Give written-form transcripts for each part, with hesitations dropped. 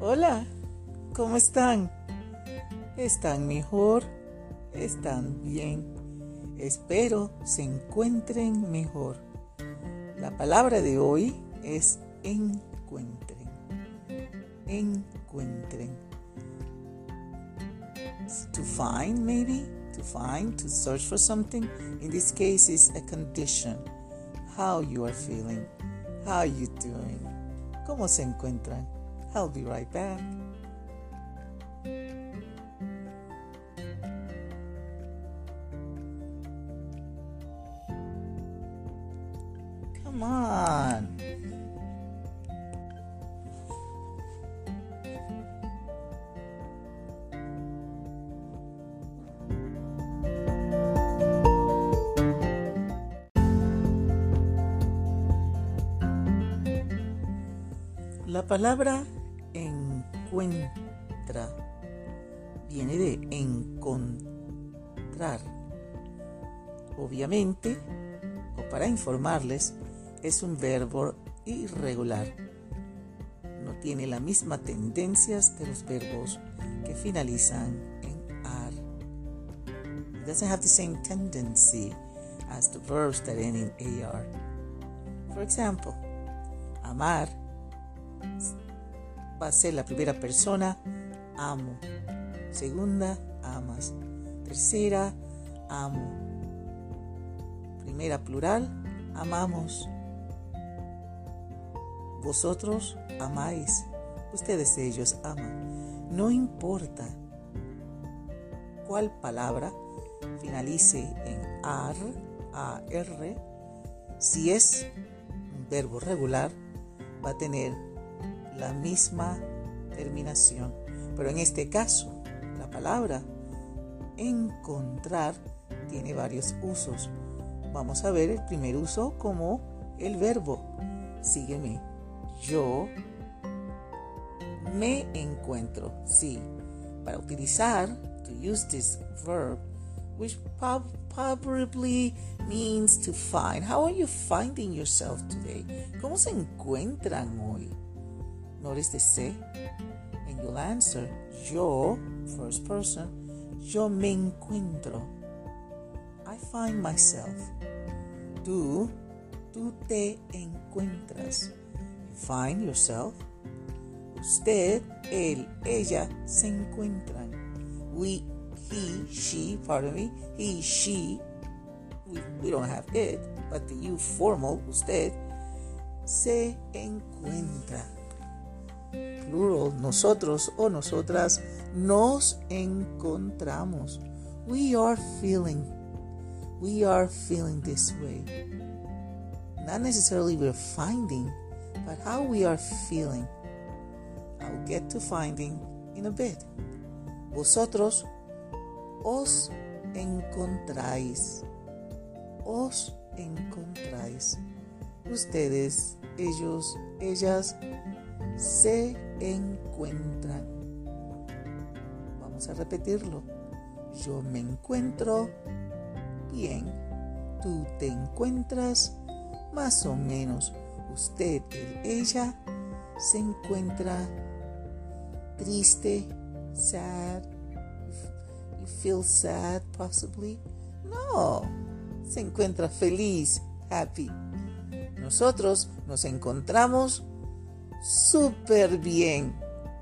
Hola, ¿cómo están? ¿Están mejor? ¿Están bien? Espero se encuentren mejor. La palabra de hoy es encuentren. Encuentren. To find, maybe? To find, to search for something. In this case, is a condition. How you are feeling. How are you doing? ¿Cómo se encuentran? I'll be right back. Come on. La palabra encuentra viene de encontrar. Obviamente, o para informarles, es un verbo irregular. No tiene las mismas tendencias de los verbos que finalizan en ar. It doesn't have the same tendency as the verbs that end in ar. For example, amar va a ser la primera persona, amo. Segunda, amas. Tercera, amo. Primera plural, amamos. Vosotros amáis. Ustedes, ellos aman. No importa cuál palabra finalice en ar, si es un verbo regular, va a tener la misma terminación. Pero en este caso, la palabra encontrar tiene varios usos. Vamos a ver el primer uso como el verbo. Sígueme. Yo me encuentro. Sí, para utilizar, to use this verb, which probably means to find. How are you finding yourself today? ¿Cómo se encuentran hoy? Notice the se, and you'll answer, yo, first person, yo me encuentro. I find myself. Tú te encuentras. You find yourself. Usted, él, ella se encuentran. We, he, she, we don't have it, but the you formal, usted, se encuentra. Plural, nosotros o nosotras nos encontramos. We are feeling this way. Not necessarily we're finding, but how we are feeling. I'll get to finding in a bit. Vosotros os encontráis. Os encontráis. Ustedes, ellos, ellas se encuentran. Vamos a repetirlo. Yo me encuentro bien. Tú te encuentras más o menos. Usted, él, ella se encuentra triste, sad. You feel sad possibly? No. Se encuentra feliz, happy. Nosotros nos encontramos súper bien.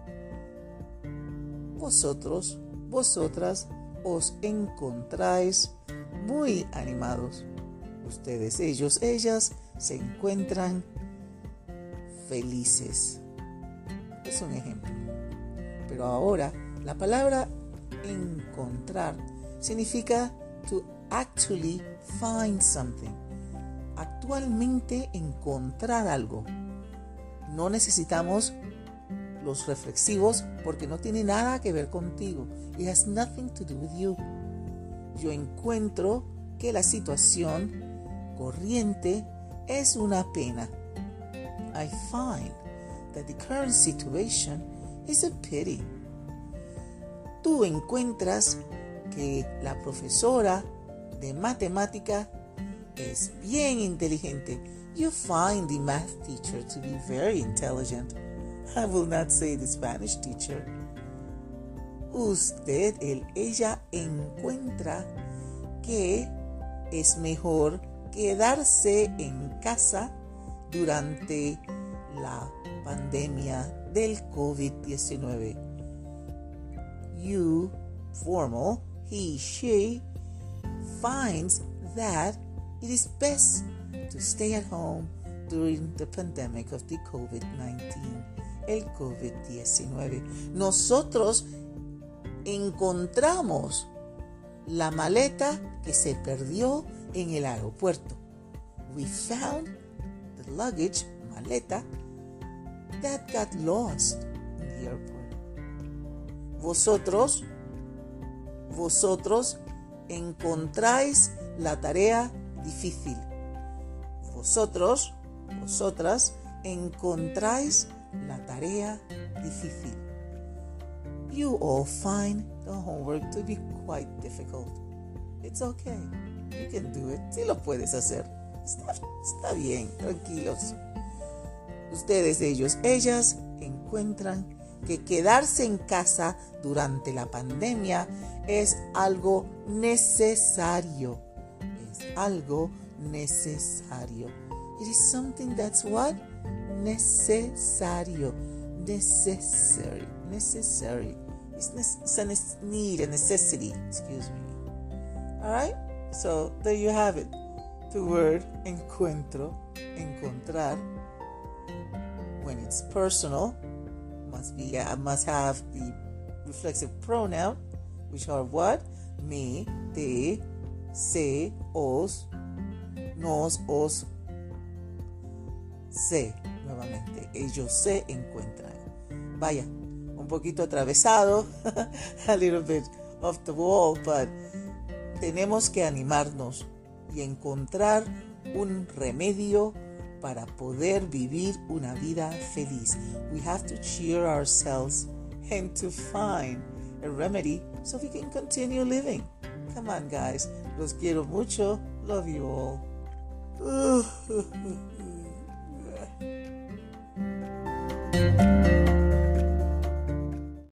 Vosotros, vosotras os encontráis muy animados. Ustedes, ellos, ellas se encuentran felices. Es un ejemplo. Pero ahora, la palabra encontrar significa to actually find something. Actualmente encontrar algo. No necesitamos los reflexivos porque no tiene nada que ver contigo. It has nothing to do with you. Yo encuentro que la situación corriente es una pena. I find that the current situation is a pity. Tú encuentras que la profesora de matemática es bien inteligente. You find the math teacher to be very intelligent. I will not say the Spanish teacher. Usted, él, ella encuentra que es mejor quedarse en casa durante la pandemia del COVID-19. You, formal, he, she, finds that it is best to stay at home during the pandemic of the COVID-19, el COVID-19. Nosotros encontramos la maleta que se perdió en el aeropuerto. We found the luggage, maleta, that got lost in the airport. Vosotros encontráis la tarea difícil. Vosotras encontráis la tarea difícil. You all find the homework to be quite difficult. It's okay. You can do it. Sí lo puedes hacer. Está bien, tranquilos. Ustedes, ellos, ellas encuentran que quedarse en casa durante la pandemia es algo necesario. Es algo necesario. It is something that's what? Necesario. Necessary. It's a need, a necessity. Excuse me. Alright? So, there you have it. The word encuentro, encontrar. When it's personal, must have the reflexive pronoun, which are what? Me, te, se, os, nos, os, se. Nuevamente, ellos se encuentran. Vaya, un poquito atravesado, a little bit off the wall, but tenemos que animarnos y encontrar un remedio para poder vivir una vida feliz. We have to cheer ourselves and to find a remedy so we can continue living. Come on, guys. Los quiero mucho. Love you all.